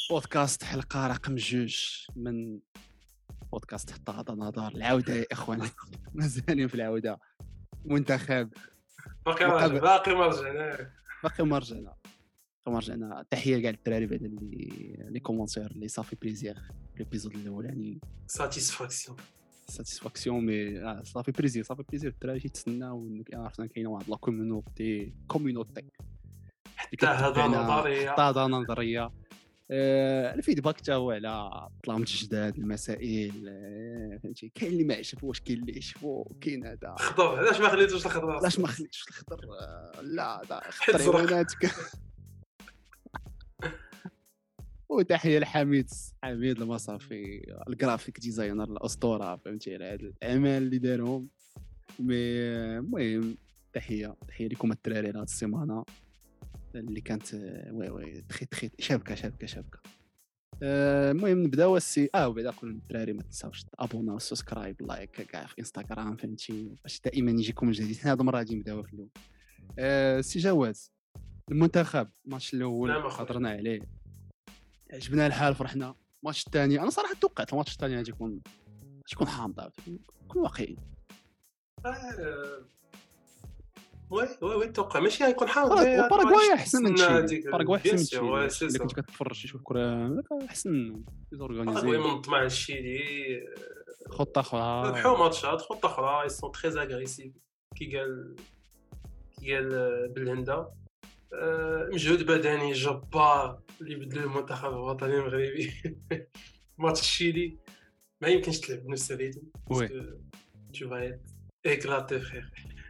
بودكاست حلقة رقم 2 من بودكاست حتى غدا نظر العودة يا إخوان. مازالين في العودة. منتخب باقي مقابل باقي ما رجعنا. باقي ما رجعنا. تحية كاع الدراري بعد اللي كومونتير اللي صافي بليزير الابيزود الاولاني. ساتيسفاكسيون. ساتيسفاكسيون مي صافي بليزير الدراري تيتسناو عرفنا كاينه واحد لا كوميونيتي اللي حتى هذا كتبعنا نظريه. حتى هذا نظريه. الفيدباك تا هو على الطلامت الجداد المسائل. فهمتي كاين اللي ما عجبوش كاين اللي عجبو كاين هذا. خضر علاش ما خليتوش الخضر؟ علاش ما خليتش الخضر؟ لا حيت خضر زرق. عيوناتك. وتحيه لحميد المصافي الجرافيك ديزاينر الاسطوره، فهمتي على هاد الاعمال اللي دارهم. المهم تحيه لكم الدراري هاد السيمانه اللي كانت وي تخي شابكه. المهم نبداو وبعدا كل الدراري ما تنساوش تابونا وسبسكرايب لايك كاع في انستغرام، فهمتي باش دائما يجيكم الجديد. حنا هاد المره غادي نبداو في الاول. سي جواز المنتخب الماتش الاول نعم أخويا. هضرنا عليه، عجبنا الحال فرحنا. الماتش الثاني انا صراحه توقعت الماتش الثاني غادي يكون حامض، كون واقعي. وي توقع ماشي غيكون حامض. باراغواي احسن من تشيلي، باراغواي احسن من بيان تشيلي. سور اللي كنت كتفرج شي كره احسن منهم باراغواي زورغانيزي. منظم مع الشيلي. خطه اخرى ربحوا ماتشات خطه اخرى. يسون تري اغريسيف كي قال بالهندا. مجهود بدني جبار اللي بدلو المنتخب الوطني المغربي. ماتش الشيلي ما يمكنش تلعب بنفس الريتم باسكو tu vas être éclaté frère.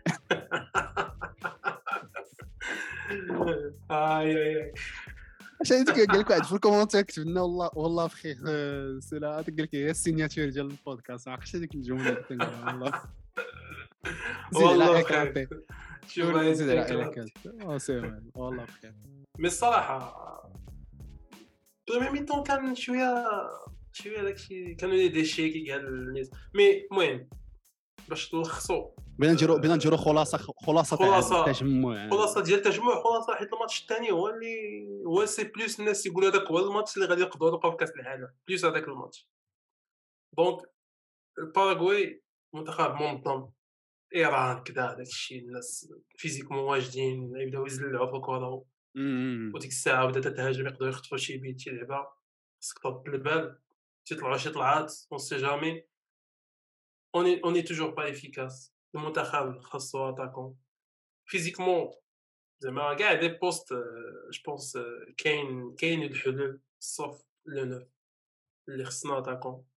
اي اش هذيك قال لك واحد في الكومونتير كتب لنا والله بخير. سلا قال لك هي السيناتور ديال البودكاست. ما عرفتش هذيك الجمله اللي كنقولها والله. زيد على والله اكراتي بخير. tu vas زيد être على éclaté. اكراتي. سي والله بخير. مي الصراحه بريمي ميتون كان شويه داكشي كانوا لي ديشي كي قال الناس. مي المهم باش تلخصوا بينا نديرو خلاصه تاع التجمع. خلاصه ديال التجمع. خلاصه حيت الماتش الثاني هو سي بلوس الناس يقولوا هذاك هو الماتش اللي غادي يقدروا يبقاو في كاس العالم بلوس هذاك الماتش. دونك الباراغواي منتخب منظم. ايران كذا داك الشيء الناس فيزيكمون واجدين يبداو يزلعوا في الكره وديك الساعه بدات تهاجم يقدروا يخطفوا شي بيت شي لعبه. خصك ترد البال تيطلعوا شي طلعات اون سي جامي. اوني توجور با افيكاس. المنتخب خاصو اتاكون فيزيكمون زعما كاع دي بوست. جو بونس كاين الحلول صوف لو نوف اللي خصنا اتاكون.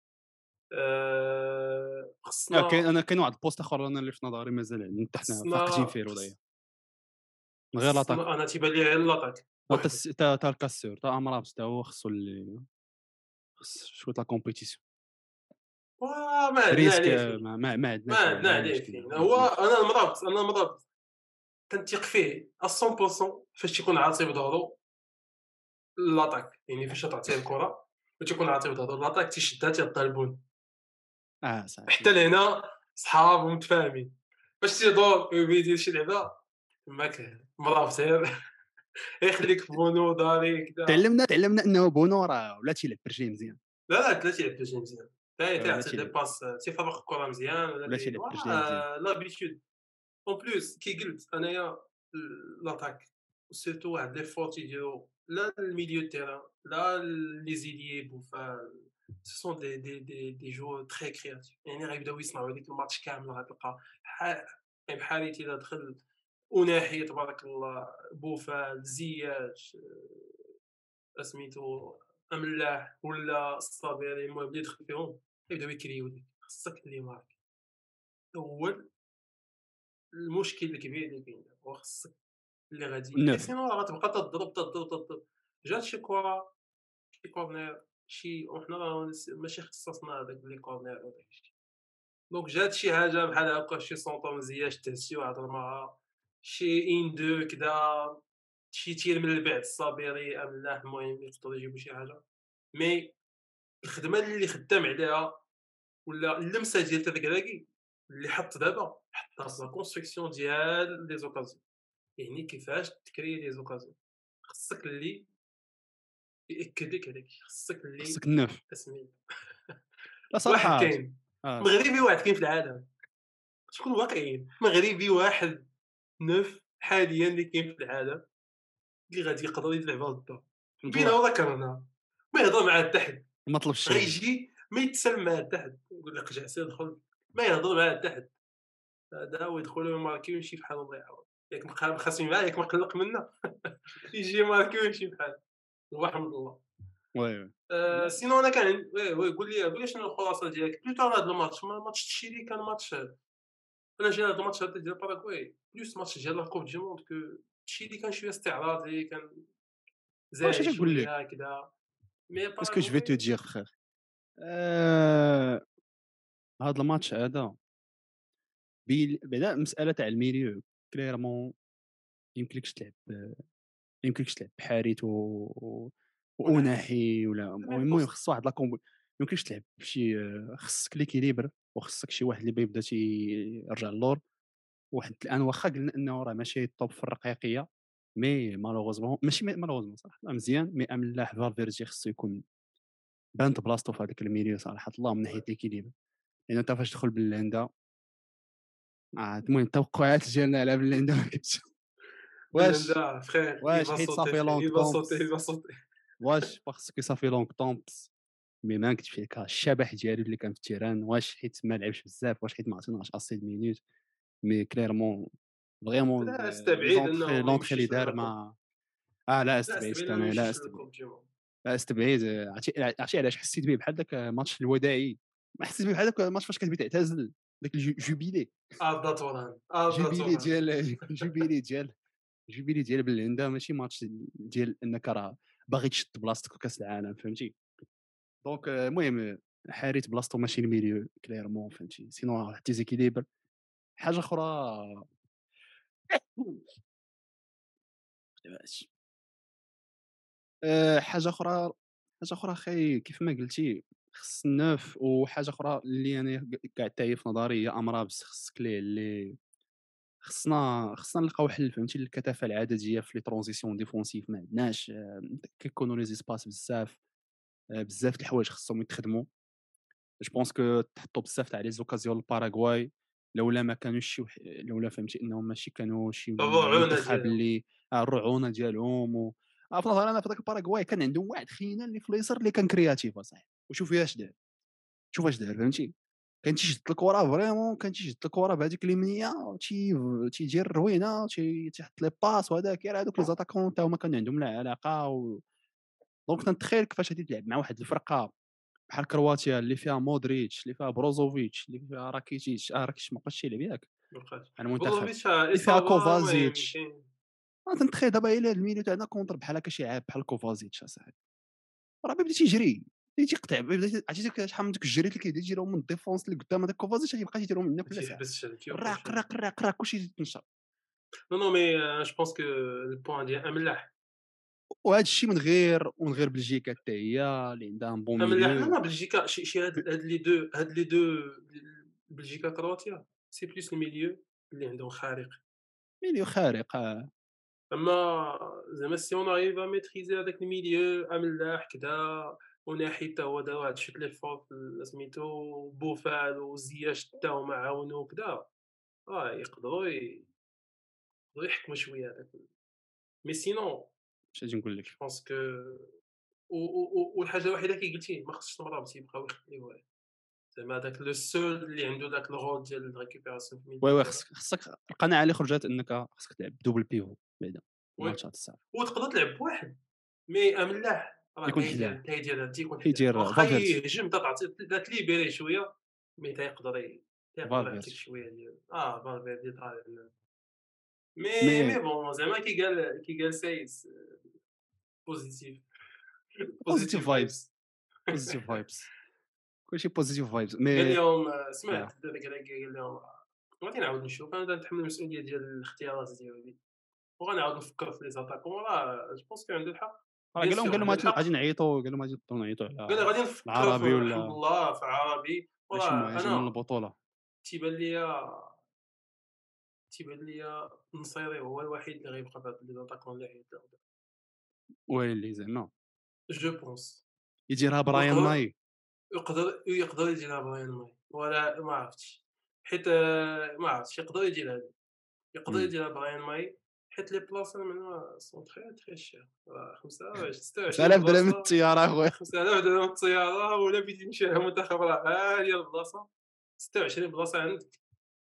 خصنا كاين واحد البوست اخر انا اللي في نظري مازال يعني حنا فاقدين فيه وضعيه من غير لاطاك. انا تيبان لي غير لاطاك وحده. تا الكاسور تا امرابس تا هو خصو اللي خص شويه لا كومبيتيسيون. ما عندنا ريسك عليه فين. ما عندناش عليه فين. هو انا المرابط كنتيق فيه 100% فاش تيكون عاطي بظهرو لاطاك. يعني فاش تعطيه الكره وتيكون عاطي بظهرو لاطاك تيشدها تيعطيها البون. صافي حتى لهنا صحاب ومتفاهمين. باش تيدور ويدير شي لعبه تماك مرابط يخليك في بونو داري كذا. تعلمنا انه بونو راه ولا تيلعب برجليه مزيان. لا تلعب بجي مزيان. ولا تعطي دي تيلعب باس تيفرق الكره مزيان ولا تيلعب برجليه مزيان. لابيتود. اون بلوس كي قلت انايا لاطاك سيرتو واحد لي فوت يديرو لا الميليو تيران لا لي زيليي بوفال. سو سون دي جو تري كرياتيف. يعني غيبداو يصنعوا هذيك الماتش كامل غتلقى بحالي الا دخل وناحيه تبارك الله بوفال زياش سميتو املاح ولا الصابيري. المهم اللي يدخل فيهم يبداو يكريو ديك. خصك اللي مارك اول المشكل الكبير اللي كاين هو خصك اللي غادي حيت النوف سينو راه غتبقى تضرب. جات شي كره شي كورنير شي وحنا راه ماشي اختصاصنا هذاك لي كورنير وداك الشيء. دونك جات شي حاجه بحال هكا شي سونطو مزيان شتا شي واحد رماها شي ان دو كدا شي تير من البعد الصابيري املاح. المهم يقدروا يجيبوا شي حاجه. مي الخدمه اللي خدام عليها ولا اللمسه ديال تذكراكي اللي حط دابا حطها في لا كونستركسيون ديال لي زوكازيون. يعني كيفاش تكري لي زوكازيون. خصك اللي ياكد لك هذاك خصك اللي خصك النوف. اسمي لا واحد صراحة كاين، آه، مغربي واحد كاين في العالم، شكون واقعيين، مغربي واحد نوف حاليًا اللي كاين في العالم اللي غادي يقدر يلعبها للدار، فهمت بينه واحد وذكرنا، ما يهضر مع حتى حد، ما طلبش الشريف. غيجي ما يتسلم مع حتى حد، يقول لك اجلس ادخل، ما يهضر مع حتى حد، هذا هو يدخل ويماركي ويمشي بحاله الله يعاون، ياك مخاصمين معاه ياك مقلق منا يجي يماركي ويمشي بحاله، وحمد الله. وي، وي. سينو أنا كان وي وي قُل لي شنو الخلاصة ديالك بلوتو على هاد الماتش ماتش تشيلي كان ماتش أنا جا هاد الماتش هذا ديال باراغواي بلوس ماتش ديال لا كوب دي موند تشيلي كان شوية استعراضي كان واش زاهي تنقول لك؟ شوية هكذا، مي qu'est-ce que je vais te باراغواي dire frère. هاد الماتش هذا بعدا المسألة تاع الميليو كليرمون يمكنلكش تلعب يمكنلكش تلعب بحاريت ونحي وأناحي ولا ميم المهم بوست خص واحد لا كومبو. ميمكنلكش تلعب بشي خصك ليكيليبر وخصك شي واحد اللي يبدا تيرجع للور. واحد الآن واخا قلنا أنه راه ماشي الطوب في الرقيقية، مي مالوغوزمون ماشي مالوغوزمون صراحة مزيان، مي أملاح فالفيردي خصو يكون بانت بلاصتو في هذاك الميليو صراحة الله من ناحية ليكيليبر. لأن أنت فاش تدخل بلندا المهم التوقعات ديالنا على بلندا ما كانتش واش بلندا فخير واش يفا حيت صوتي صافي فخير لونغ يفا صوتي طومبس. يفا صوتي واش خصك يصافي لونغ طومبس. مي ما نكذبش عليك الشبح ديالو اللي كان في التيران واش حيت ما لعبش بزاف واش حيت ما عطيناش اسي د مينوت. مي كليرمون فريمون لا لي استبعد زونطخي أنه ما لونطخي اللي يمشيش دار للكوب، ما لا لا استبعدت استبعد أنه ما انا لا يمشيش استبعد. للكوب دي موند. لا استبعد عرفتي علاش حسيت به بحال داك الماتش الوداعي. ما حسيت به بحال داك الماتش فاش كتبي تعتزل داك الجوبيلي أردا توران أردا جوبيلي توران ديال جوبيلي ديال جوبيلي ديال بلندا ماشي ماتش ديال انك راه باغي تشد بلاصتك في كاس العالم فهمتي. دونك المهم حاريت بلاصتو ماشي الميليو كليرمون فهمتي سينو راه ديزيكيليبر. حاجه اخرى حاجه اخرى اخي كيف ما قلتي خص النوف. وحاجه اخرى اللي انا كاع حتى هي في نظري هي امرابس خصك ليه اللي خصنا نلقاو حل فهمتي للكثافه العدديه في لي ترونزيسيون ديفونسيف ما عندناش كيكونوا لي زيسباس بزاف. بزاف د الحوايج خصهم يتخدموا. جو بونس كو تحطوا بزاف تاع لي زوكازيون للباراغواي لولا ما كانوش لولا فهمتي انهم ماشي كانوا شي الرعونة منتخب ديالهم. اللي الرعونه ديالهم في نظري انا في ذاك الباراغواي كان عندهم واحد خينا اللي في اليسار اللي كان كرياتيف اصاحبي. وشوف اش دار شوف اش دار فهمتي. كان تيشد الكره فريمون كان تيشد الكره بهذيك اليمنيه تيدير الروينه تيحط لي باس وهذاك غير هذوك لي زاتاكون تا هما كان عندهم لا علاقه دونك تنتخيل كيفاش غادي تلعب مع واحد الفرقه بحال كرواتيا اللي فيها مودريتش اللي فيها بروزوفيتش اللي فيها راكيتيتش راكيتيتش ما بقاش يلعب ياك مابقاش على المنتخب بوظوفيتش اللي فيها إصابة المهم كوفازيتش. كاين تنتخيل دابا الا الميليو تاعنا كونتر بحال هكا شي عاب بحال كوفازيتش اصاحبي راه بدا تيجري بدا تيقطع عرفتي شحال من دوك الجريت اللي كيبدا يديرهم من الديفونس اللي قدام هذاك كوفازيتش غيبقى يديرهم ما منك بلا ساعه تيحبسش ما الراق تيوقفش الراق الراق الراق كلشي يتنشر. نو نو مي جو بونس كو البوان ديال أملاح وهذا الشيء من غير بلجيكا حتى هي اللي عندها ان بون أملاح لا ميليو. لا بلجيكا شي هاد لي دو بلجيكا كرواتيا سي بلوس الميليو اللي عندهم خارق، ميليو خارق أما زعما سي اون arrive à maîtriser هذاك الميليو أملاح كدا وناحي حتى هو دار واحد شوت ليفور في سميتو بوفال وزياش حتى هما عاونوه وكدا، يقدروا يحكموا شوية هذاك مي سينون اش غادي نقول جو لك. بونس كو والحاجة الوحيدة كي قلتي ما خصش المرابط يبقاو يخليوه زعما هذاك لو سول اللي عنده داك الرول ديال الريكوبيراسيون في وي الميديا وي دابا خصك القناعه اللي خرجت انك خصك تلعب دوبل بيفو بعدا وي الماتشات الصعب وتقدر تلعب بواحد مي ملاح راه يكون حداه تا يدير تيكون حداه يدير واخا فالفيردي يهجم تا تعطي تا تليبيري شوية مي تا يقدر يعطيك فالفيردي شوية ديال فالفيردي طالع مي مي بون زعما كي قال سايس بوزيتيف بوزيتيف بوزيتيف فايبس فايبس بوزيتيف فايبس كلشي بوزيتيف فايبس قال مي لهم يا سمعت هذاك قال لهم غادي نعاود نشوف انا نتحمل المسؤوليه ديال الاختيارات ديالي وغنعاود نفكر في لي زاتاكون راه جو بونس كو عنده الحق راه بيان قال سور لهم عنده غادي الحق نعيطوا قال لهم غادي نبداو نعيطوا قال على غادي نفكروا في العربي الحمد ولا لله في عربي شي وراه مهاجم من انا البطوله. تيبان ليا نصيري هو الوحيد اللي غيبقى في هاد لي زاتاكون اللي عيط له ويلي زعما جو بونس يديرها براين ويقدر ماي. يقدر يديرها براين ماي، ولا ما عرفتش، حيت ما عرفتش يقدر إمم. يديرها براين ماي، حيت لي بلاصة من هنا سون تري شير، 26 5000 درهم بلاصة، الطياره اخويا. 5000 درهم الطيارة، ولا بغيتي تمشي للمنتخب راه غالية البلاصة، 26 بلاصة عندك.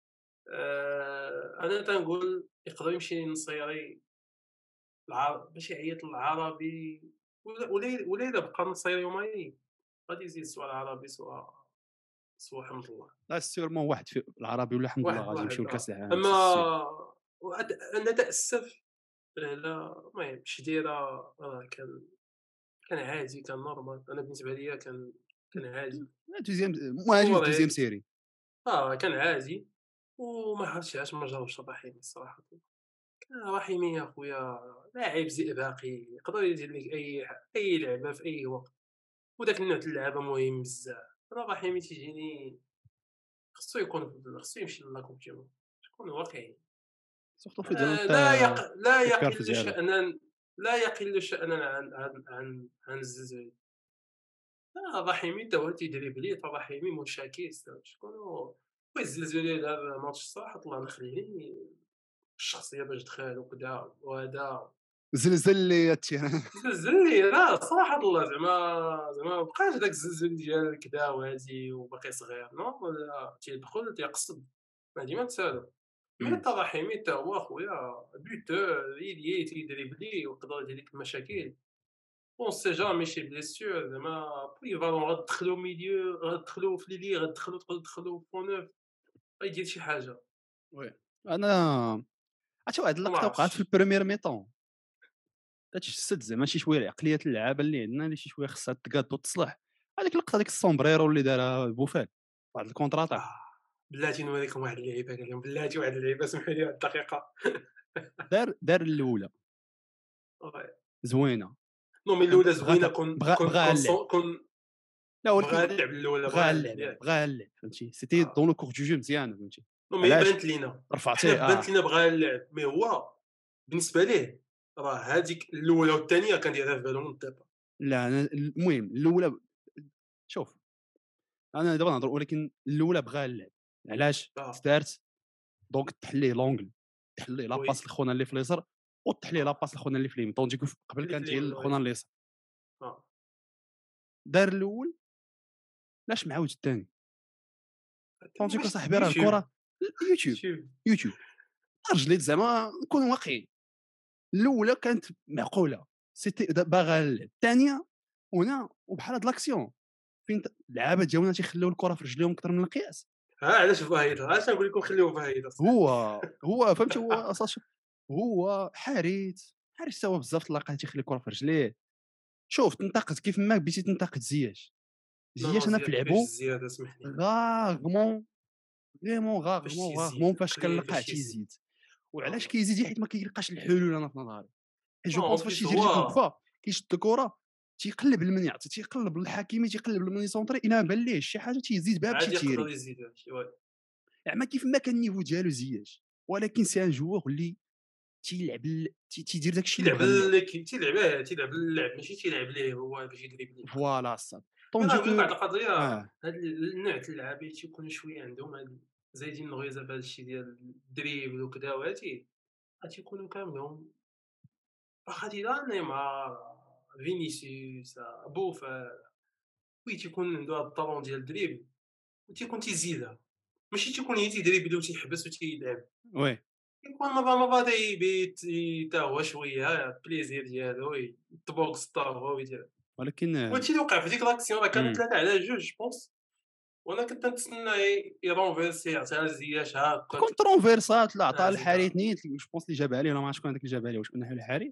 أنا تنقول يقدر يمشي للنصيري باش يعيط للعربي، ولا إلا بقى نصيري يومين غادي يزيد سوا العربي سوا حمد الله. لا سيرمون واحد في العربي ولا الحمد لله واحد غادي واحد يمشيو لكاس العالم أما سي سير. أنا تأسف على المهم شديرة، كان عادي، كان نورمال، أنا بالنسبة ليا كان عادي. دوزيام مهاجم في دوزيام وريت سيري. كان عادي، وما عرفتش علاش ما جاوبش رحيمي الصراحة. رحيمي يا خويا لاعب زئبقي، يقدر يدير لك أي لعبة في أي وقت، وداك النوع د اللعبة مهم بزاف. أنا رحيمي تيجيني خصو يمشي لا كوب دي موند، شكون واقعي. سورتو في ظل لا الكارت يقل ديالو. شأنًا، عن الزلزولي. رحيمي تا هو تيدريبلي، رحيمي مشاكس، شكون الزلزولي دار ماتش الصراحة طلع نخليه الشخصية باش دخل وكذا وهذا. زلزل لي التيران. زلزلني لا صراحة الله، زعما مابقاش داك الزلزول ديال كدا وهادي وباقي صغير، نو لا تيدخل تيقصد، ما ديما تسالى. مي إمم. تا رحيمي تا هو خويا بوتور، يليي تيدريبلي ويقدر يدير لك المشاكل، اون سي جامي شي بليسيور زعما بوليفالون، غتدخلو ميليو، غتدخلو في ليلي، تقدر تدخلو في فونوف، غيدير شي حاجة. وي. انا عرفتي واحد ما اللقطه وقعت في عرفتش. البريمير ميطون، كتجسد زعما شي شويه عقليه اللعابه اللي عندنا اللي شي شويه خصها تقاد وتصلح. هذيك اللقطه ديك السومبريرو اللي دارها بوفال واحد الكونتراتاك. آه، بلاتي نوريكم واحد اللعيبة، قال لهم بلاتي واحد اللعيبة، سمحوا لي واحد الدقيقة. دار الاولى زوينه. نو مي فهمت الأولى زوينة، كون كون بغاها كون اللعب. صون كون لا بغا ولكن اللعب الأولى، بغاها بغا اللعب اللعب ياك. بغاها اللعب فهمتي سيتي آه. دون لو كور دو جو مزيان فهمتي. نو مي هي علاش بانت لينا، حنا رفعتيه بانت لينا بغا اللعب، مي هو بالنسبة ليه راه هاديك الأولى والثانية كان دايرها في بالو من الديبار. لا أنا المهم الاولى شوف انا دابا نهضر ولكن الاولى بغاها اللعب. علاش آه، دارت دونك تحليه لونغل، تحليه وي، لاباس لخونا اللي في اليسار وتحليه آه، لاباس لخونا اللي في اليمين طونديك قبل اللي في كانت هي اليمين، لخونا وي، اليسار. آه، دار الاول لاش معاود الثاني طونديك واش اصاحبي راه يوتيوب، الكره يوتيوب يوتيوب، يوتيوب رجليت زعما نكون واقعي. الاولى كانت معقوله سيتي باغا اللعب. الثانيه هنا وبحال هاد لاكسيون فين اللعابه ديالنا تيخليو الكره في رجليهم اكثر من القياس. علاش فايدة، علاش نقول لكم خليوه فايدة صاحبي. هو فهمتي هو اساس هو حارس تا هو بزاف اللقطات تيخلي الكره في رجليه. شوف تنتقد كيف ما بديتي تنتقد نو زياش انا في زياد ما فيهش لعبو الزيادة، سمح لي، غاغمون فريمون فاش غاغمون تيزيد فاش قليل كنلقاه فاش يزيد. تيزيد. وعلاش كيزيد حيت ما كيلقاش الحلول انا في نظري. حيت جو نو اون بونس فاش بليس تيجي هو يجيب الكفا كيشد الكره تيقلب لمن يعطي تيقلب للحكيمي تيقلب لمن يسونطري الا ما بان ليه شي حاجه تيزيد بها بشي عادي يقدر تيري. يزيد هادشي، وي. زعما كيف ما كان النيفو ديالو زياش ولكن سي ان جوور اللي تيلعب تيدير داك الشيء اللي تيلعب بغا اللعب. تيلعب اللعب، ماشي تيلعب ليه هو باش يدريبلي. فوالا صافي مي راه طوندي نقول لك واحد كو القضية، اه هاد النوع د اللعابة تيكونوا شوية عندهم هاد زايدين الغيزة في هاد الشي ديال الدريبل وكذا وهادي، تيكونوا كاملهم واخا تيلعب نيمار، فينيسيوس، بوفال، وي تيكون عنده هاد الطالون ديال الدريبل وتيكون تيزيدها، ماشي تيكون غير تيدريبلي وتيحبس وتيلعب، وي يكون مرة تيبيت تا هو شوية البليزير ديالو يطبق ستارو ويدير. ولكن وهادشي اللي وقع في ديك لاكسيون، راه كانوا امم 3-2 جو بونس، وانا كنت نتسنى يرونفيرسي يعطيها لزياش هاكا كونتروفيرسات لا عطاها زيدها. الحريت نيت جو بونس اللي جابها عليه ولا ما عرفت شكون هذاك اللي جابها عليه واش كنا حنا الحريت.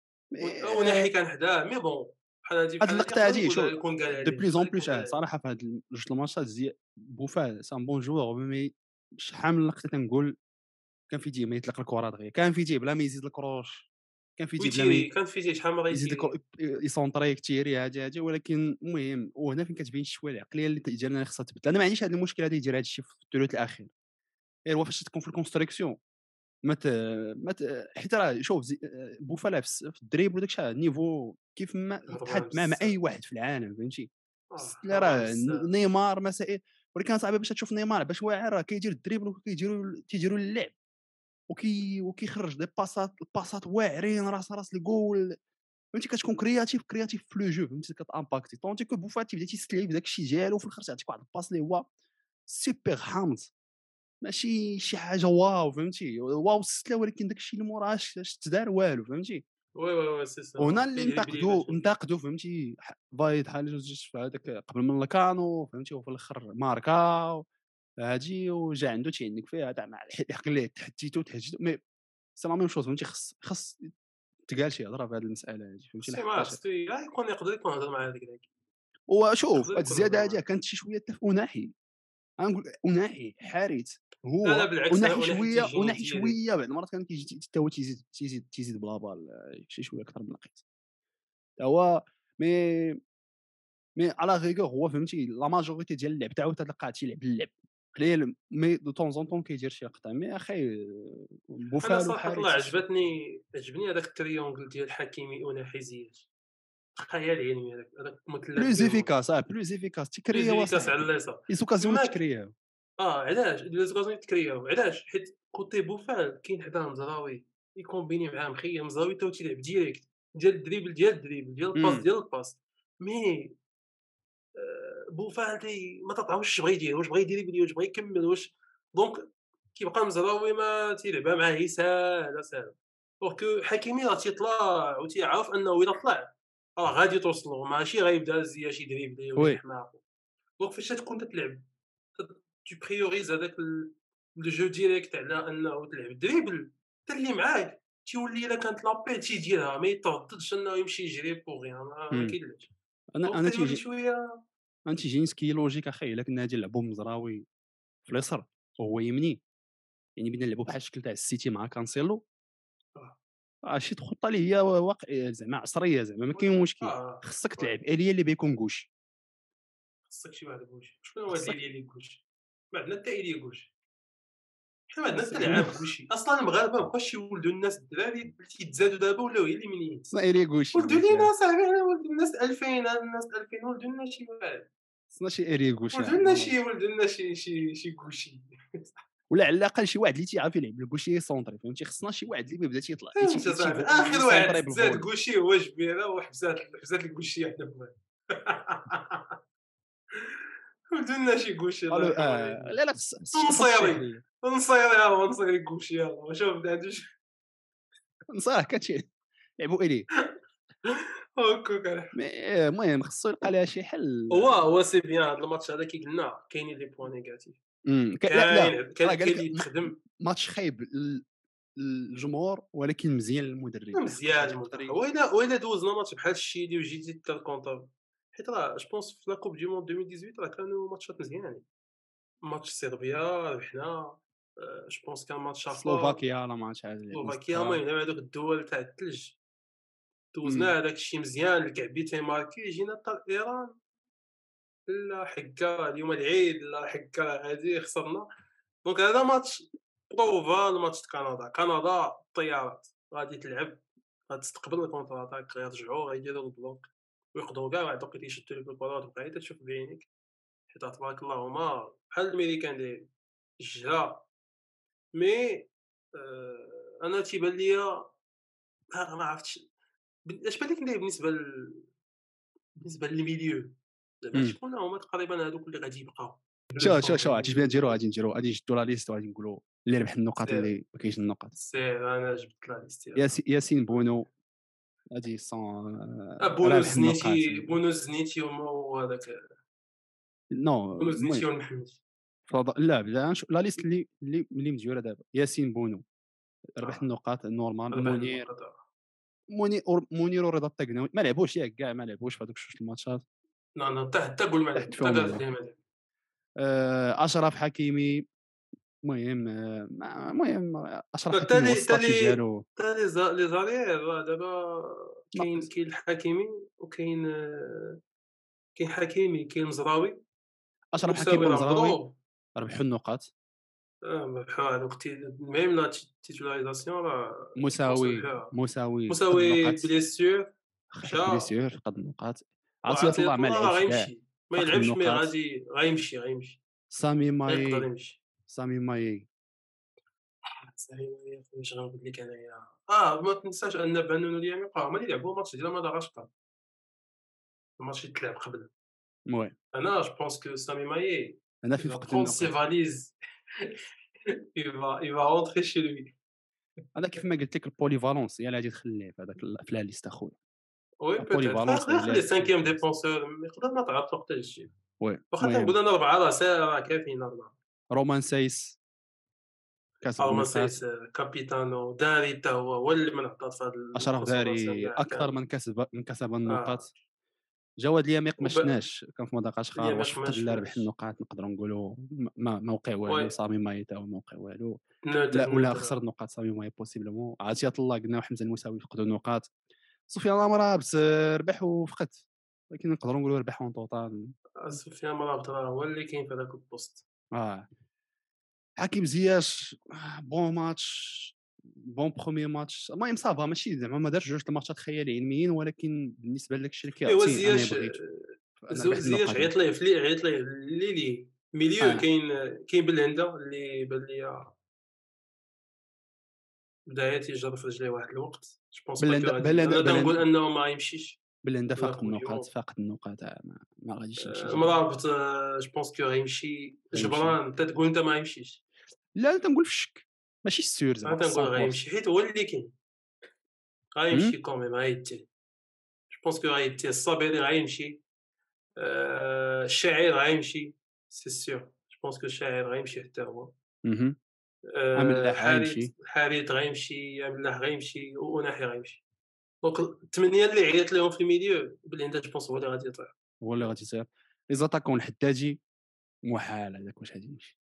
وناحي كان حداه، مي بون بحال هادي هاد بحال هادي اللقطه يقدر هادي شو يكون قال دو عليه، بليز اون يقدر بليس يكون قال عليه. صراحه في هاد جوج الماتشات بوفال سان بون جوور مي شحال من لقطه تنقول كان في يديه ما يطلق الكره دغيا كان في يديه بلا ما يزيد الكروش كان في يديه بلا ما ويتيري كان فيه شحال من مرة يزيد يتيري. يسونطري كتيري هادي ولكن المهم وهنا فين كتبين شويه العقليه اللي ديالنا اللي خصها تبدل. انا ما عنديش هذا المشكل هذا يدير هذا الشيء في الثلث الاخير غير هو فاش تكون في الكونستركسيون ما ت ما ت حيت راه شوف بوفال في الدريبل وداك الشيء نيفو كيف ما هضبان يتحد مع بزاف. اي واحد في العالم فهمتي. لا هضبان راه بزاف. نيمار مسائل، ولكن صعيبه باش تشوف نيمار باش واعر راه كيدير الدريبل تيديروا اللعب وكيخرج دي الباسات واعرين راس الجول فهمتي. كتكون كرياتيف في لو جو فهمتي كتامباكتي طونتي كو بوفاتي بدا تيستلعب بداك الشيء ديالو وفي الاخر تيعطيك واحد الباس اللي هو سوبر حامض ماشي شي حاجه واو فهمتي واو الستله ولكن داك الشيء اللي موراه اش تدار والو فهمتي. وي سي وهنا سا اللي كيدريبلي باش انتقدوا فهمتي فايد حاجه جوج في هذاك قبل من لكانو فهمتي وفي الاخر ماركا هادي وجا عنده تيعنك فيها تاع مع الحق اللي تحديتو تهجدو مي سي لا ميم شوز فهمتي خص تقال شي هضره في هذه المساله هذه فهمتي خصني ما لحقاش خصو يقدر يكون هضر مع هذاك داك. وشوف يقدر هاد يكون هضر الزياده هذه معاه. كانت شي شويه حتى في اناحي غنقول اناحي حارث لا لا هو بالعكس انا انا حتى يجيني وناحي ديالي. شويه بعض المرات كان كيجي حتى هو تيزيد بلا بال شي شويه اكثر من القيت هو مي على ريغور هو فهمتي لا ماجوريتي ديال اللعب تاعو تلقاه تيلعب اللعب قليل مي دو طون زون طون كيدير شي لقطه مي اخي انا بوفال صراحه الله وحارس عجبني هذاك التريونغل ديال حكيمي وناحي زياش. خيال علمي هذاك مثلث بلوز بينهم. افيكاس بلوز افيكاس تكريا بليزيفيكاس على وصاحبي اليسار. لي زوكازيون تماك. تكريا علاش لي زوكازيون تكرياو علاش حيت كوتي بوفال كاين حداه مزراوي يكومبيني معاه مخير مزراوي تا هو تيلعب ديريكت ديال الدريبل ديال الباس ديال الباس. مي بوفال ما تطعمش واش بغا يدير واش بغا يدير واش بغا يكمل واش دونك كيبقى مزراوي ما تيلعبها معاه هي ساهله ساهله. دونك حكيمي راه تيطلع وتيعرف انه الا طلع راه غادي توصلو ماشي غيبدا زياش يدريبلي ولا وي يحماق. دونك فاش تكون تلعب tu priorises هذاك لو جو ديريكت على انه تلعب دريبل حتى اللي معاك تيولي الا كانت لابيل تيديرها ما يترددش انه يمشي يجري بوغ ما كاينلاش. دونك انا تيولي تيجي شويه. تيجيني سكي لوجيك اخي الا كنا غادي نلعبوا مزراوي في اليسر وهو يمني يعني بدنا نلعبوا بحال الشكل تاع السيتي مع كانسيلو آه. شي خطه اللي هي واقع زعما عصريه زعما ما كاين مشكل خصك وي تلعب اليا اللي بيكون غوش خصك شي واحد كوشي شكون هو هاد خصك ليليا كوشي ما عندنا حتى ايليا كوشي حنا ما عندنا حتى خصك لعاب كوشي اصلا المغاربه مابقاوش يولدوا الناس الدراري اللي تيتزادوا دابا ولاو هي اليمينيين. خصنا اليا غوشي ولدوا داكشي لينا صاحبي انا ولد الناس 2000 الناس 2000 ولدوا لنا شي واحد خصنا شي اليا غوشي ولدوا لنا شي كوشي. ولا على الاقل شي واحد اللي تيعرف يلعب الكوشي سونطري فهمتي خصنا شي واحد اللي بدا تيطلع فهمت اصاحبي اخر واحد يسونطري زاد بالفولي كوشي هو جبيره وحبسات الكوشي حدا بوحدها. ولدوا لنا شي كوشي الله قالوا يرحم والديك. لا خص شي نصيري تصحيح ليا يلاه نصيري كوشي يلاه شوف ما عندوش. نصح كتشي لعبوا اليه هكاك راه. مي المهم خصو يلقى لها شي حل هو سي بيان هاد الماتش هذا كي قلنا كاينين لي بوان نيجاتيف. لا راه كاين قال اللي لك يتخدم. ماتش خايب للجمهور ولكن مزيان للمدرب مزيان المنتخب المدرب وإلا دوزنا ماتش بحال الشيلي وجيتي حتى الكونتر حيت راه جو بونس في لا كوب دو موند 2018 راه كانوا ماتشات مزيانين. ماتش صربيا ربحنا. جو بونس كان ماتش اخر سلوفاكيا لا ماتش عاد لعبنا سلوفاكيا. 6 المهم هذوك الدول تاع الثلج دوزنا هذاك الشيء مزيان الكعبي تيماركي جينا حتى ايران لا حكا اليوم العيد لا حكا هادي خسرنا. دونك هذا ماتش بروفا الماتش كندا الطيارات غادي تلعب غادي تستقبل الكونتر اتاك غيرجعوا غيديروا البلوك ويقدروا كاع واحد الوقت يشدوا لك الكره وتبقى تشوف بعينيك حيت تبارك الله هما بحال الامريكان دايرين الجرا. مي انا تيبان ليا ما عرفتش اش بان لك بالنسبه للميليو زعما شكون هما تقريبا هذوك اللي غادي يبقاو شو عرفتي اش بغينا نديرو غادي نشدو لا ليست وغادي نقولوا اللي ربح النقاط سير اللي ما كاينش النقاط سير انا جبت لا ليست ياسين بونو هادي سون بونو رابح النقاط الزنيتي وهذاك نو بونو الزنيتي المهم والمحمدي. لا بلا لا ليست اللي مديوره دابا ياسين بونو ربح اه النقاط نورمال ربح النقاط منير ورضا الطقناوي ما لعبوش ياك كاع ما لعبوش في هذوك جوج الماتشات لا حتى قول ما لعب تحت حتى فيهم قالت هما لي ما لعب. اشرف حكيمي المهم اشرف حتى حكيمي هو لي حتى الستاتيو لي ديالو حتى لي زاريير دابا ناقص كاين الحكيمي وكاين كاين حكيمي كاين مزراوي اشرف حكيمي ومساوي راه ومزراوي مضروب. ربحوا النقاط بحال هادوك ميم لا تيتولاريزاسيون راه يفورسو مساوي فيها. مساوي فقد مساوي النقاط، بليسيور خايف مشى، بليسيور فقد النقاط، عطية وعطية الله ما الله راه لعبش كاع، غيمشي، ما فقد يلعبش مي النقاط. غيمشي، سامي غيقدر ماي يمشي. سامي ماي سالي واش غنقول لك انايا، ما تنساش ان بانون اليميق هما اللي لعبوا الماتش ديال مدغشقر، الماتش اللي تلعب قبل. المهم انا جو بونس كو سامي ماي انا il في va فقد prendre ses النقاط. valises il va rentrer chez lui. انا كيف ما قلت لك البوليفالونس هي اللي غادي تخليه في هذاك في لا ليست اخويا. وي بوتيتر البوليفالونس يقدر هي اللي يخلي غادي تخليه سانكيام في لا ليست. ديفونسور، يقدر ما تعرف وقتاش تجي. وي واخا المهم تنقول انا 4 راه ساهل، راه كافيين 4. رومان سايس كاسب ارما النقاط. سايس كابيتانو داري حتى هو اللي من عطات في هاد اشرف الكونسونطاسيون داري كاع اكثر كامل. من كسب اه النقاط. جواد اليميق ما وب... شفناش كان في مدغشقر، واش اليميق ما فقد لا ربح شفناش. النقاط نقدروا نقولوا ما وقع وي والو. سامي ماي تا هو ما وقع والو. نوتر ولا نوتر. خسر النقاط سامي ماي بوسيبلمون. عطية الله قلنا وحمزه المساوي فقدوا النقاط. سفيان الامرابط ربح وفقد، ولكن نقدروا نقولوا ربح اون توتال. سفيان مرابط راه هو اللي كاين في هذاك البوست. اه حكيم زياش بون ماتش، بون بروميي ماتش. المهم صافا ماشي زعما ما دارش جوج الماتشات خيالي علميين، ولكن بالنسبه لك الشيء اللي ايوا كيعطيه انا زياش، بغيتو انا ربحت زياش النقاط. عيط ليه عيط ليه ليلي ميليو. اه كاين بالهندا اللي بان ليا بدا تيجر في رجليه واحد الوقت. جو بونس با كو بلندا غادي، بلندا انا تنقول بلندا انه ما يمشيش بلندا لا فاقد كوب دي النقاط، موند. فاقد النقاط. ما غاديش يمشي جا مرابط جو بونس كو غيمشي. غيمشي. جبران تتقول انت ما يمشيش، لا انا تنقول في الشك ماشي السير انا زعما تنقول 100%. غيمشي حيت هو اللي كاين. هم؟ غيمشي كوميم غيديه. جو بونس كو غيديه. الصابيري غيمشي، الشاعر غيمشي سي سيور. جو بونس كو الشاعر غيمشي حتى هو. مهم. املاح حارث غيمشي. غيمشي، ملاح غيمشي، وناحي غيمشي. دونك الثمانيه اللي عيط لهم في الميليو بالعند جو بونس هو اللي غادي يطيح. هو اللي غادي يصير. لي زاتاكون الحداجي محال هذاك واش غادي يمشي.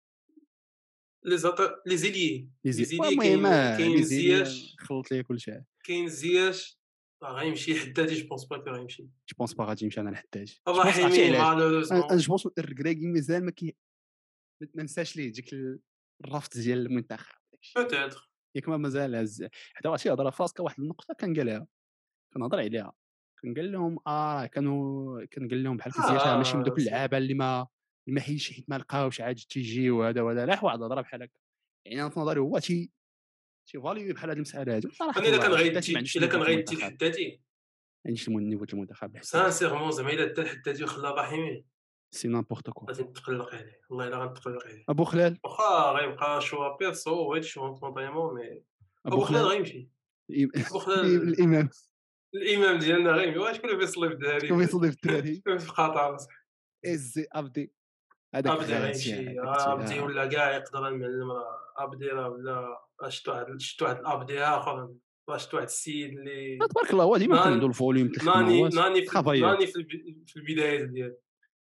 لي زيليي لي زيليي المهم لي كاين زيلي زياش. خلط لي كلشي. كاين زياش راه غيمشي. حدادي جو بونس با كو غيمشي. جو بونس با غادي يمشي انا الحداجي. جو بونس عرفتي الرحيمي علاش؟ انا مالوروزمون جو بونس الركراكي مازال ما نساش ليه ديك الرفض ديال المنتخب داكشي. بوتيتر. ياك ما مازال هز حتى واحد شي هضره فاسكه. واحد النقطه كان قالها، كنهضر عليها، كان قال لهم كان قال لهم بحال زياش ماشي من دوك سي اللعابه اللي ما حيدش حيت ما لقاوش عاد تيجي وهذا وهذا. لا واحد الهضره بحال هكا. يعني انا في نظري هو تي فاليو بحال هذه المساله هذه. صراحه انا الله الحداثي ما عندوش الا النيفو كان تاع غيدي المنتخب، ما الحدادي عندوش النيفو تاع المنتخب الحداثي. سانسيرمون زعما الا دا الحدادي وخلى الرحيمي سي نامبورت كوا. غادي نتقلق عليه، والله الا غنتقلق عليه. ابو خلال. واخا غيبقى شوا بيرسو وهادشي شوا كونطريمون مي ابو ابو خلال خلال غيمشي. ابو خلال الامام. الامام ديالنا غيمشي. شكون اللي بيصلي في شكون الدراري؟ يصدي في الدراري؟ شكون في قطر؟ ازي ابدي هذاك ابدي غاتي غيمشي. هذاك ابدي ولا كاع يقدر المعلم. راه ابدي راه ولا شفت واحد الابدي اخر. شفت واحد السيد اللي تبارك الله. هو ديما كان عنده ناني الفوليوم د الخدمه. هو ترافايور. في البدايات ديالو.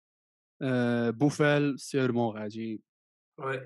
بوفال سيرمون غادي. وي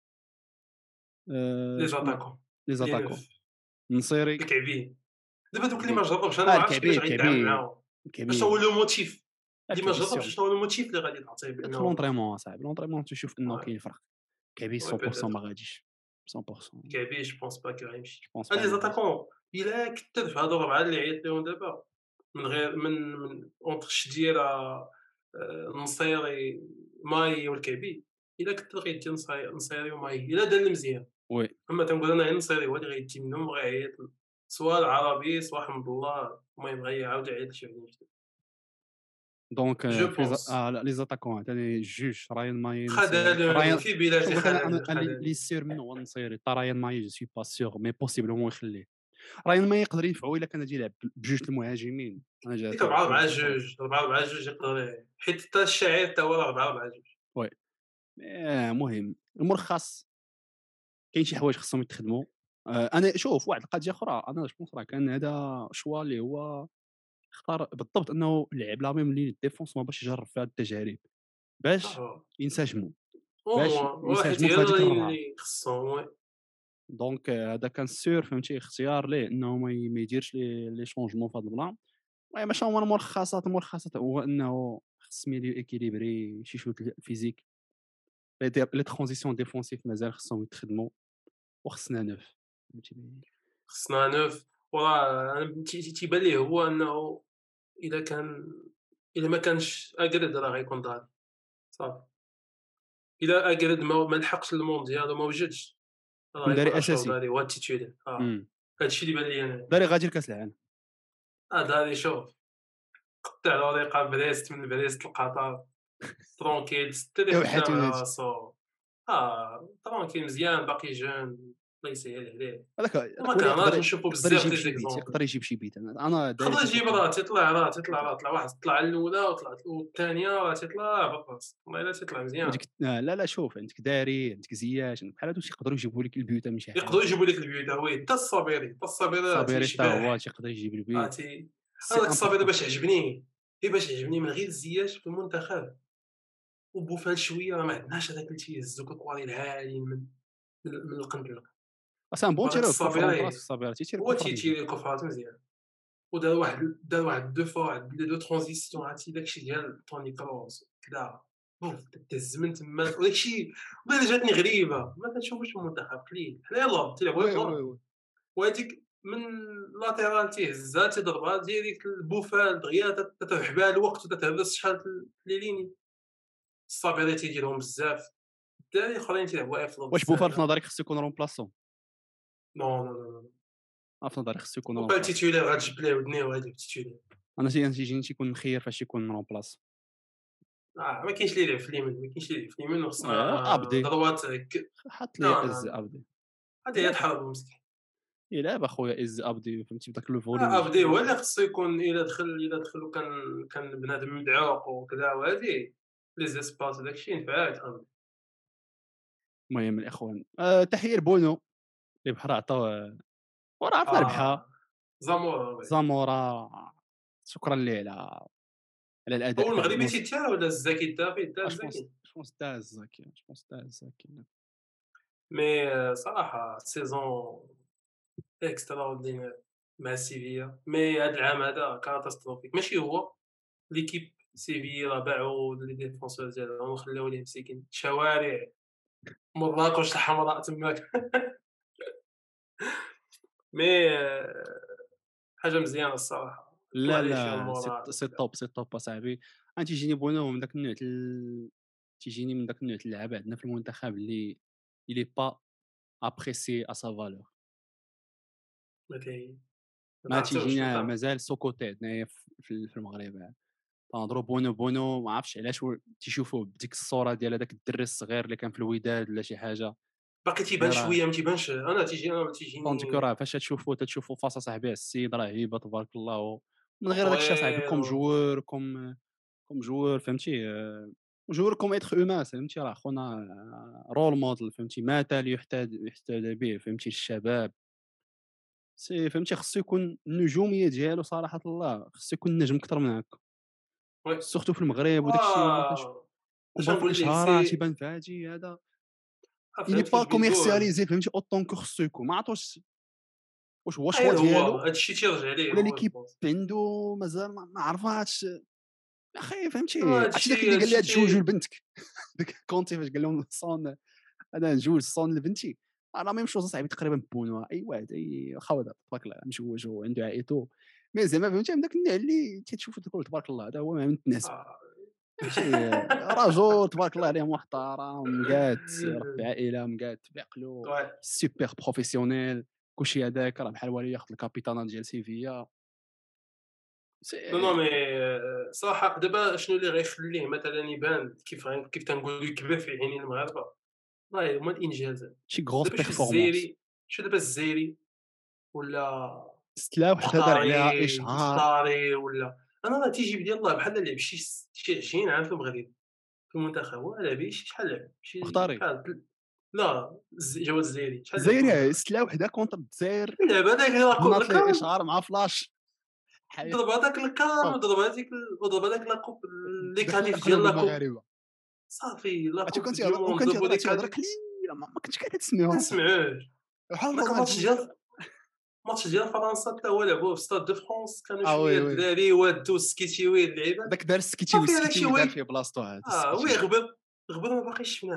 لي شكون زاتاكون لي لي زاتاكون؟ نوف نصيري. الكعبين. دابا دوك اللي ما جربش انا ما عرفتش كيفاش غيتعامل الكعبي معاهم. اش هو الكعبي لو موتيف اللي ما الكعبي جربش؟ سيغ. شنو هو الموتيف اللي غادي تعطيه دخل بانه لونطريمون صاحبي. لونطريمون تشوف انه وي كاين فرق. الكعبي وي 100% بيتيتر. ما غاديش. 100% كعبي جو بونس با كو جو غيمشي. بونس با لي ما غاديش. زاتاكون الا كثر في هادو الربعه اللي عيط لهم دابا من غير من اونتر شديره، النصيري، ماي والكعبي. الا كثر غيدي نصيري وماي الا دار المزيان. وي اما تنقول انا غير النصيري هو اللي غيدي منهم وغيعيط سوا العربي سوا حمد الله. المهم غيعاود يعيط لشي واحد من جديد. دونك جو في بونس لا لي زاتاكون ثاني جوج راين ماي نصيري. خذلان راين في بلادي. شوف انا خذلان. اللي سير منه هو النصيري. تا راين ماي جو سوي با سيغ مي بوسيبلمون يخليه. راين ماي يقدر ينفعو الا كان غادي يلعب بجوج المهاجمين. انا جا ديك تيلعب 4 بجوج 4 النصيري. 2 4 4 2 يقدر حيت حتى الشاعر حتى هو راه 4 4 2. وي المهم الملخص كاين شي حوايج خصهم يتخدموا. انا شوف واحد القضيه اخرى. انا جو بونس راه كان هذا شوا اللي هو اختار بالضبط انه لعب لا ميم لين ديفونس باش يجرب في هاد التجارب باش ينسجموا او باش موان واحد ينسجموا هي في هذيك الربعه. اللي خصهم. وي دونك هذا كان سور فهمتي اختيار ليه انه ما يديرش لي شونجمون في هذا البلان. المهم باش هما الملخصات هو انه خص ميليو ايكيليبري شي شويه الفيزيك لي ترانزيسيون ديفونسيف مازال خصهم يتخدموا وخصنا نوف فهمتيني. خصنا نوف. وراه أنا تيبان ليه هو أنه إلا كان إلا ما كانش أجرد راه غيكون ضايع صافي. إلا أجرد ما لحقش المونديال وما وجدش راه كون غيكون داري أشرف اساسي. داري هو التيتولير. هادشي اللي بان ليا أنا. داري غادي لكاس العالم. داري شوف قطع له رقاب بريست من بريست لقطر ترونكيل ستري خدام على وحاتوني راسو. ترونكيل مزيان باقي جون الله يسهل عليه. وما هذاك ولي كرهناش يقدر نشوفو يقدر بزاف يجيب ديال شي بيت، زيكزومبل. يقدر يجيب شي بيت. انا داير يقدر يجيب كنتوقع راه تيطلع واحد طلع الاولى وطلعت والثانيه راه تيطلع بالراس والله الا تيطلع مزيان. وديك لا شوف، عندك داري، عندك زياش، عندك بحال هادو تيقدروا يجيبوا لك البيوت من شي حاجه. يقدروا يجيبوا لك البيوت وي حتى الصابيري راه صابيري حتى هو تيشبح. تيقدر يجيب اه البيت. تي سي هذاك الصابيري امبورطون. باش عجبني من غير زياش في المنتخب وبوفال شويه راه ما عندناش هذاك اللي تيهزوك الكواري العالي من القنبله. اصلا بون وهذاك تيرو كوفر اون براس، الصابيري الصابير تيتير هو كوفر مزيان. تيتيري الكفرات مزيان. دار واحد دو فوا واحد لي دو ترانزيسيون عرفتي داكشي ديال توني كروس كدا بوف تهز من تما وداكشي. والله إلا جاتني غريبه ما كنشوفوش في المنتخب قليل حنا يلاه تيلعبوا وي يلاه. وي وي وهاديك من لاتيرال تيهزها تيضربها ديريكت البوفال دغيا تتربح بها الوقت وتتهبس شحال لي ليني. الصابيري تيديرهم بزاف الدراري الاخرين تيلعبوا افضل واش بوفال في بزاف. نظرك خصو يكون رومبلاسون؟ نو نو نو نو في نظري خصو يكون بوفال رومبلاسون. تيتولير غتجبد ليه ودنيه وهادي تيتولير. انا تيجيني تيكون مخير فاش يكون رومبلاسون. ما كاينش اللي يلعب في اليمين وخصنا ابدي ضربات هك. حط لي لا از لا ابدي. هادي هي تحرض مسكين. يلعب اخويا از ابدي فهمتي بداك الفوليوم ابدي هو اللي خصو يكون الا دخل وكان بنادم مدعوق وكذا وهادي لي زيسباس داكشي ينفع ابدي. المهم الاخوان تحيه لبونو اللي بحال عطاو وراه عرفنا ربحها. زامورا وي. زامورا شكرا ليه على الاداء هو تاع المغربي الموسم. تيتا ولا الزاكي تا فيه تا جوبونس الزاكي. جوبونس داز زكي، جوبونس داز زكي. مي صراحه سيزون اكسترا اوردينير مع سيفيا. مي هاد العام هذا كاتاستروفيك ماشي هو ليكيب سيفيا راه باعوا لي ديفونسور ديالهم وخلاو ليه مساكين شوارع مراكش الحمراء تماك. مي حاجه مزيانه الصراحه طلع ليه شي لا المورال سي وكذا. توب، سي توب اصاحبي. انا تيجيني بونو من داك النوع تيجيني من داك النوع د اللعابه عندنا في المنتخب اللي إلي با ابريسي ا سا فالور. ما كاين ما ما تعرفتوش تيجينا انت. مازال سوكوتي هنايا في المغرب. تنهضروا بونو ما عرفتش علاش تيشوفوه بديك الصوره ديال هذاك الدري الصغير اللي كان في الوداد ولا شي حاجه. باقي تيبان غير شويه ما تيبانش انا طونتي تيجيني راه فاش تشوفوا فاس صاحبي السيد راه هيبه تبارك الله. من غير هذاك الشيء صاحبي طويل كوم جوور كوم جوور فهمتي. جوور كوم ايتر هومان فهمتي. راه خونا رول موديل فهمتي، مثال يحتذى به فهمتي الشباب. سي فهمتي خصو يكون النجوميه ديالو صراحه الله خصو يكون نجم اكثر من هكا، وي. سورتو في المغرب وداك الشيء اللي اش كنبان في نقول لك الاشهارات سي يبان فهادي هذا. إلي فهمت با فاش بغيت نقول. كوميرسياليزي فهمتي اوطون كو خصو يكون. ما عرفتش واش هو شوا غير هو ديالو هادشي تيرجع ليه ولا هو ليكيب جوبونس. عنده مازال ما عرفاتش. اخي فهمتي عرفتي داك هادشي اللي قال لها تجوج تي لبنتك داك كونتي فاش قال لهم صون انا نجوج صون لبنتي. راه ميم شوز صاحبي تقريبا بونو اي واحد اي خوضه تبارك الله مشوج وعنده عائلته. مي زعما فهمتي من داك النوع اللي تشوفو تقول تبارك الله هذا هو ما متناسب. آه. فهمتي رجل تبارك الله عليه محترم مقاد ربي عائله مقاد بعقلو وي. سوبر بروفيسيونيل كلشي هذاك راه بحال هو اللي ياخذ الكابيتانا ديال سيفيا. نو سي مي صراحه دابا شنو اللي غيخليه مثلا يبان كيف تنقولوا يكبر في عينين المغاربه والله هما الانجازات. شي غروس دابا بيرفورمانس. شو دابا الجزائري ولا ستلا وحده دار عليها اشهار. قطري ولا انا راه تيجيب ديال الله بحال لعب شي 20 عام في المغرب في المنتخب هو لعب شحال لعب مختاري لا جواد الجزائري شحال لعب في الجزائري المنتخب. ستلا وحده كونتر الجزائر لعب هذاك بنات ليه الكام اشهار مع فلاش حي ضرب هذاك الكام طب وضرب هذاك لاكوب لي دخل كاليف ديال قلوب لاكوب المغاربه. صافي عرفتي لاكوب كنت دو موند وكان ضربوا تيهضر لي تيهضر كاليف قليل ما كنتش قاعد ما تسمعوها نسمعوش. بحال هذاك رونالدو. الماتش ديال فرنسا حتى هو لعبوه في ستاد دو فرانس كانوا اه شويه وي وي الدراري وادو سكيتيوي اللعيبات داك دار السكيتيوي صافي هذاك شي السكيتيوي دار وين فيه بلاصتو هذا وي السكيتيوي. غبر ما باقيش شفناه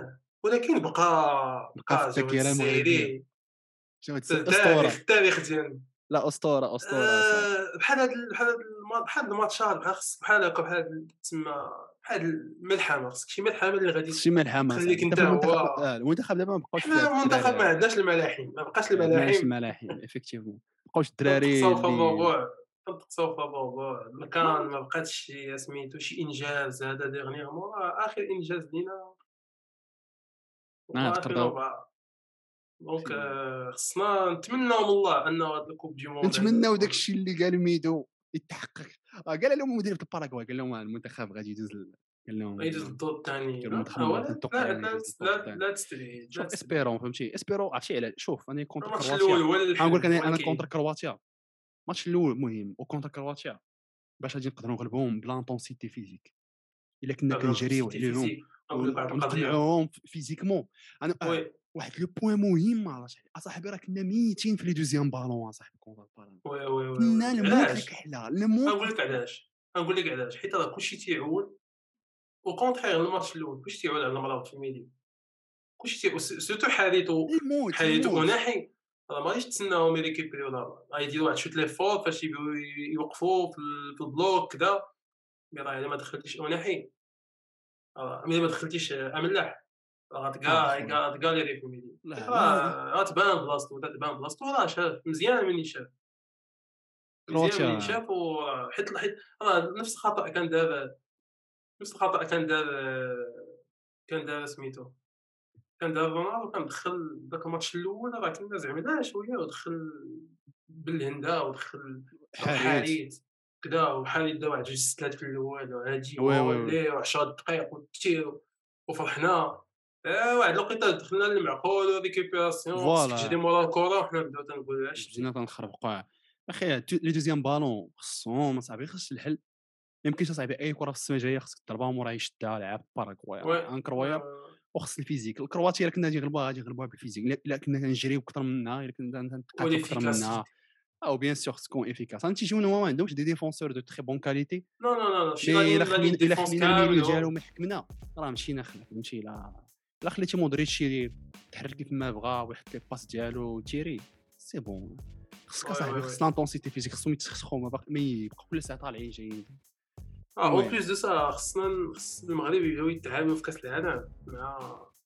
ولكن بقى في بقى جا واحد الذاكره المغربيه. السيري شو هاد اسطوره. التاريخ ديالنا. لا اسطوره اسطوره صاحبي. بحال هاد الماتشات بحال هكا بحال تسمى بحال الملحمة، خصك شي ملحمة اللي غادي شي ملحمه تخليك صاحبي. انت انت في المنتخب هو. المنتخب دابا ما بقاوش فيه هاد حنا المنتخب ما الدراري. عندناش الملاحم، ما بقاش ما عندناش الملاحم. الملاحم افكتيفمون. بقاوش الدراري تنتقصاو في اللي الربوع، تنتقصاو في الربوع، ما بقاتش شي سميتو شي انجاز هذا ديغنيغمون. اخر انجاز لينا هو تقدروا 2004. دونك في. خصنا نتمناو من الله انه هاد الكوب دي موند هذا نتمناو داك يكون. الشيء اللي قال ميدو يتحقق. قال لهم مدير الباراغواي، قال لهم المنتخب غادي يدوز قال يجوز لهم الدور الثاني. المنتخب ولا المغربي نتوقع يعني يدوز الدور لا الثاني. لا تستبعد، لا شوف تستبعد. اسبيرون فهمتي، اسبيرو عرفتي علاش. شوف انا كونتر الماتش كرواتيا. الاول هو غنقول لك الحل، هو انا اللي كونتر كاين. كرواتيا. الماتش الاول مهم، وكونتر كرواتيا باش غادي نقدروا نغلبوهم بلانتونسيتي فيزيك. الا كنا بلا كنجريو تونسيتي عليهم فيزيك. نقول لك واحد القضيه. ونقمعوهم فيزيكمون. انا وي واحد لو بوين مهم اصاحبي، راه كنا ميتين في لي دوزيام بالون اصاحبي كونتر بالون. وي وي وي كنا وي الموت لك علاش؟ حلا الموت غنقول لك لك حلا. علاش. غنقول لك علاش، حيت راه كلشي تيعول. او كونتخيغ الماتش الاول كلشي تيعول على المرابط في الميديا. كلشي سيرتو حاليتو الموت. اوناحي. راه ما غاديش تسناهم يريكيبريو دابا، غيديروا واحد شوت لي فور فاش يبغيو يوقفوا في البلوك كذا. مي راه الا ما دخلتيش اوناحي، ملي ما دخلتيش املاح، راه خويا غتكاليري في الميديا. لا لا راه غتبان بلاصتو، تبان بلاصتو. راه شاف مزيان مني شاف، مزيان منين كرواتيا. شاف. حيت راه نفس الخطأ كان دار سميتو، كان دار رونالدو. كان دخل داك الماتش الاول، راه كنا زعما شويه ودخل بالهندا ودخل حريت. الحريت كدا. وحريت دا واحد جوج ستلات في الاول وهادي وي وي وي وولي و10 دقايق والتير وفرحنا. واحد الوقيته دخلنا للمعقول وريكوبيراسيون، خصك تجري فوالا. مورا الكره وحنا نبداو تنقولوا بدينا عشتي. تنخربقوا اخي. لي دوزيام بالون خصهم اصاحبي، خص الحل. ما يمكنش اصاحبي اي كره في السما جايه خصك تضربها ومورا يشدها لاعب باراغواي وي راه وي انكرويابل. وخص الفيزيك. الكرواتيا الا كنا غادي نغلبوها غادي نغلبوها بالفيزيك. الا كنا كنجريو اكثر منها، الا كنا نتقاتلوا اكثر منها. وليفيكاسيتي. او بيان سور خص تكون افيكاس. انت تيجيونا ما عندهمش دي ديفونسور دو تري بون كاليتي. نو نو نو نو، شي مي لا لين الا ديفونس خلينا الميليو كاملهم. ديالهم يحكمنا راه مشينا خلا فهمتي. لا خليتي مودريتش يتحرك كيف ما بغا ويحط لي باس ديالو وتيري سي بون. خصك وي وي اصاحبي وي. خص لانتونسيتي فيزيك. خصهم يتسخسخوا ما يبقى كل ساعه طالعين جايين. او المهم بليس دو سا خص المغرب يبداو يتعاملوا في كاس العالم مع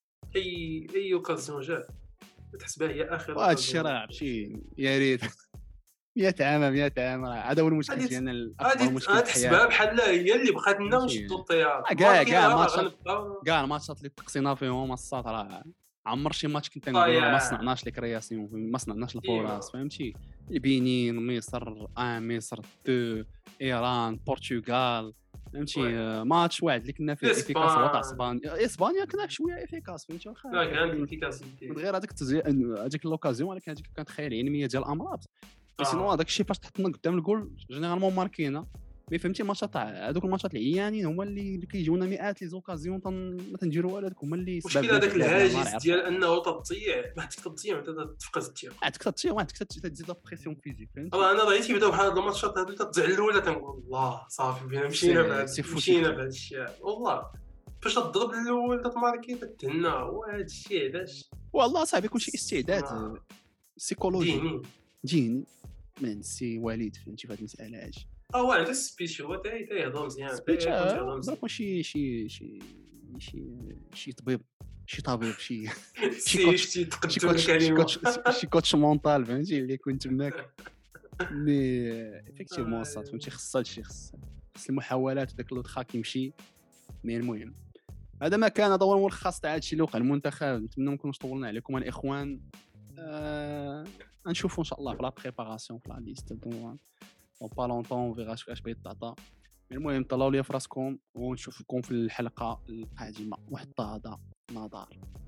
اي اوكازيون جات تحسبها هي اخر وهذا الشيء اوكازيون. راه ماشي يا ريت 100 عام 100 عام. راه هذا هو المشكل غادي ديالنا، الاكبر غادي مشكل في تحسبها حياتنا. بحال هي اللي بغات لنا فهمتي ونشدوا الطيار. كاع راه ماتشات، غنبقاو كاع الماتشات اللي تقصينا فيهم الصاد راه عمر شي ماتش كنت نقولوا راه ما طايع صنعناش لي كرياسيون، ما صنعناش الفرص ديما. فهمتي. البنين، مصر، مصر 2، ايران، البرتغال فهمتي. وي ماتش واحد اللي كنا فيه افيكاس هو تاع اسبان اسبانيا كنا شويه افيكاس فهمتي. لا واخا كانت من الافيكاسيتي. غير هذيك لوكازيون، ولكن هذيك كانت خيال علميه ديال الامراض. مي سينو اه هذاك الشيء فاش تحطنا قدام الجول جينيرالمون ماركينا. مي فهمتي ماتشات تاع هذوك الماتشات العيانين هما اللي كيجيونا مئات لي زوكازيون ما تنديروا والو. هذوك هما اللي سبب مشكل لنا في هذاك اللعب الله الهاجس يعرفو. ديال انه تضيع، ما حدك تضيع وانت تفقد الثقه. عاد كتطيح واحد تزيد لا بريسيون فيزيك فهمتي. انا ضيعتي بداو بحال هاد الماتشات هادو تتزع الاولى تنقول الله صافي بينا سي مشينا فوتي. بهذا الشيء والله. فاش تضرب الاول تتماركي تتهنى. وهذا الشيء علاش والله صاحبي كلشي استعداد سيكولوجي ديني. ديني من سي وليد فهمتي في هذه المساله. هادشي هو عنده سبيتش، هو تيهضر مزيان، سبيتش تيكون تيهضر مزيان. بقى شي طبيب شي شي سي كوتش شتي شي تقدم كوتش شي الكلمه. كوتش شي كوتش مونطال فهمتي اللي يكون تماك. مي افيكتيفمون صات فهمتي. خص هادشي، خص المحاولات وداك لوطخا كيمشي. مي المهم هذا ما كان. هذا هو الملخص تاع هادشي اللي وقع المنتخب. نتمنى ما نكونوش طولنا عليكم الاخوان. نشوفوا ان شاء الله في لا بريباراسيون في لا ليست دو با لونطون فيغا اش بيطاطا. المهم طلعوا لي فراسكم ونشوفكم في الحلقه القادمه. وحتى هذا نظار.